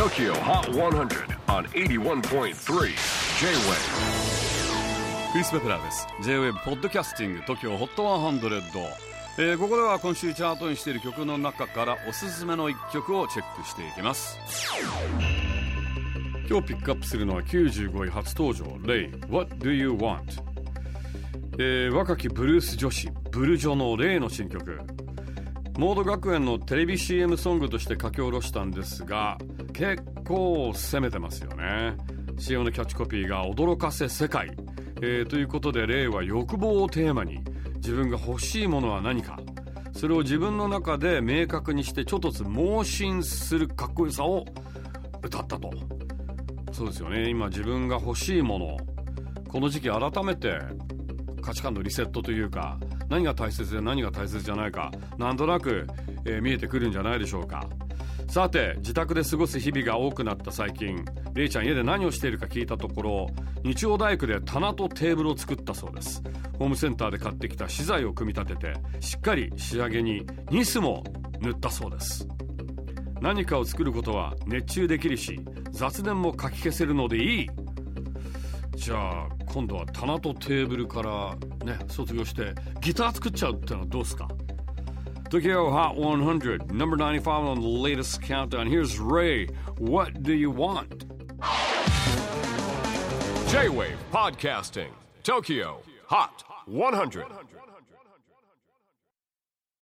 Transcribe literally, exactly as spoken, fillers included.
トキオ Hot セント on エイティワンポイントスリー J-Wave。 クリス・ベプラーです。 J-Wave ポッドキャスティング トキオ ホットセント、えー、ここでは今週チャートにしている曲の中からおすすめのいっきょくをチェックしていきます。今日ピックアップするのはきゅうじゅうごい初登場、レイ What Do You Want、えー、若きブルース女子ブルジョのレイの新曲、モード学園のテレビ シーエム ソングとして書き下ろしたんですが、結構攻めてますよね。 シーエム のキャッチコピーが驚かせ世界、えー、ということでレイは欲望をテーマに自分が欲しいものは何か、それを自分の中で明確にしてちょっとずつ盲信するかっこよさを歌ったと。そうですよね。今自分が欲しいもの、この時期改めて価値観のリセットというか、何が大切で何が大切じゃないか、なんとなく、えー、見えてくるんじゃないでしょうか。さて、自宅で過ごす日々が多くなった最近、レイちゃん家で何をしているか聞いたところ、日曜大工で棚とテーブルを作ったそうです。ホームセンターで買ってきた資材を組み立てて、しっかり仕上げにニスも塗ったそうです。何かを作ることは熱中できるし、雑念もかき消せるのでいい。じゃあ今度は棚とテーブルからね、卒業してギター作っちゃうってのはどうですか。 Tokyo Hot セント number ninety-five on the latest countdown. Here's Ray, What Do You Want? J-Wave Podcasting Tokyo Hot セント